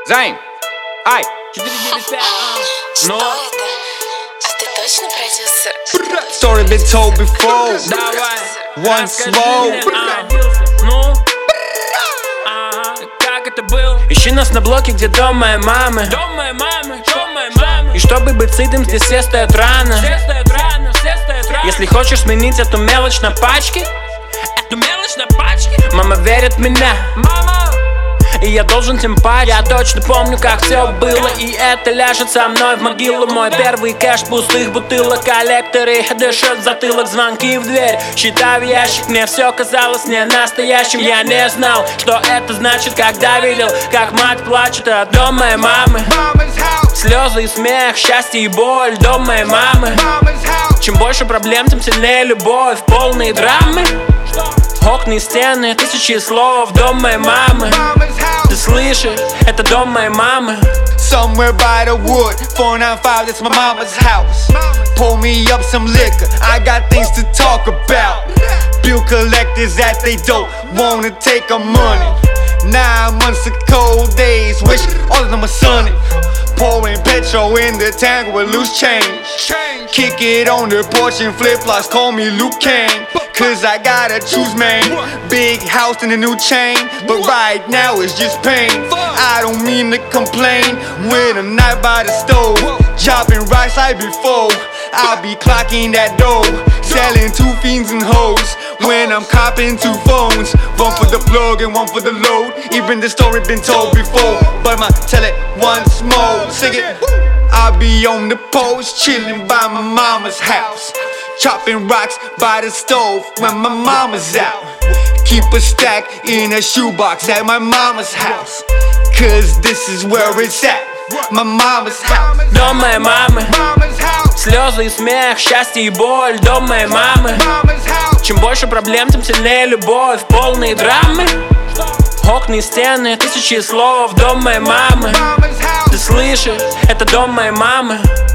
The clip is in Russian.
Займ, ай, 495. Что Ну, это? А ты точно продюсер? story been told before. давай, One расскажи slow. мне, ну, как это было? Ищи нас на блоке, где дом моей мамы. Дом моей мамы, дом моей мамы. И чтобы быть сытым, здесь все стоят рано. Все стоят рано, все стоят рано. Если хочешь сменить эту мелочь на пачке, Эту мелочь на пачке, мама верит в меня, мама. и я должен тем паче. Я точно помню, как все было, и это ляжет со мной в могилу. Мой первый кэш пустых бутылок, коллекторы дышат в затылок, звонки в дверь, считаю ящик. Мне все казалось не настоящим. Я не знал, что это значит, когда видел, как мать плачет. А дом моей мамы, слезы и смех, счастье и боль. Дом моей мамы. Чем больше проблем, тем сильнее любовь. Полные драмы, окна и стены, тысячи слов. Дом моей мамы. Ты слышишь? Это дом моей мамы. Somewhere by the wood, 495, that's my mama's house. Pour me up some liquor, I got things to talk about. Bill collectors at they dope, wanna take our money. 9 months of cold days, wish all of them were sunny. Pouring petrol in the tank with loose change. Kick it on the porch and flip-flops, call me Luke Kane. Cause I gotta choose, man. Big house and a new chain, but right now it's just pain. I don't mean to complain when I'm not by the stove, chopping rice like before. I'll be clocking that dough, selling 2 fiends and hoes when I'm copping 2 phones. One for the plug and one for the load. Even the story been told before, but I'ma tell it once more. Sing it. I'll be on the post, chilling by my mama's house, chopping rocks by the stove when my mama's out. Keep a stack in a shoebox at my mama's house, cause this is where it's at, my mama's house. Дом моей мамы. Слезы и смех, счастье и боль. Дом моей мамы. Чем больше проблем, тем сильнее любовь. Полные драмы, окна и стены, тысячи слов. Дом моей мамы. Ты слышишь? Это дом моей мамы.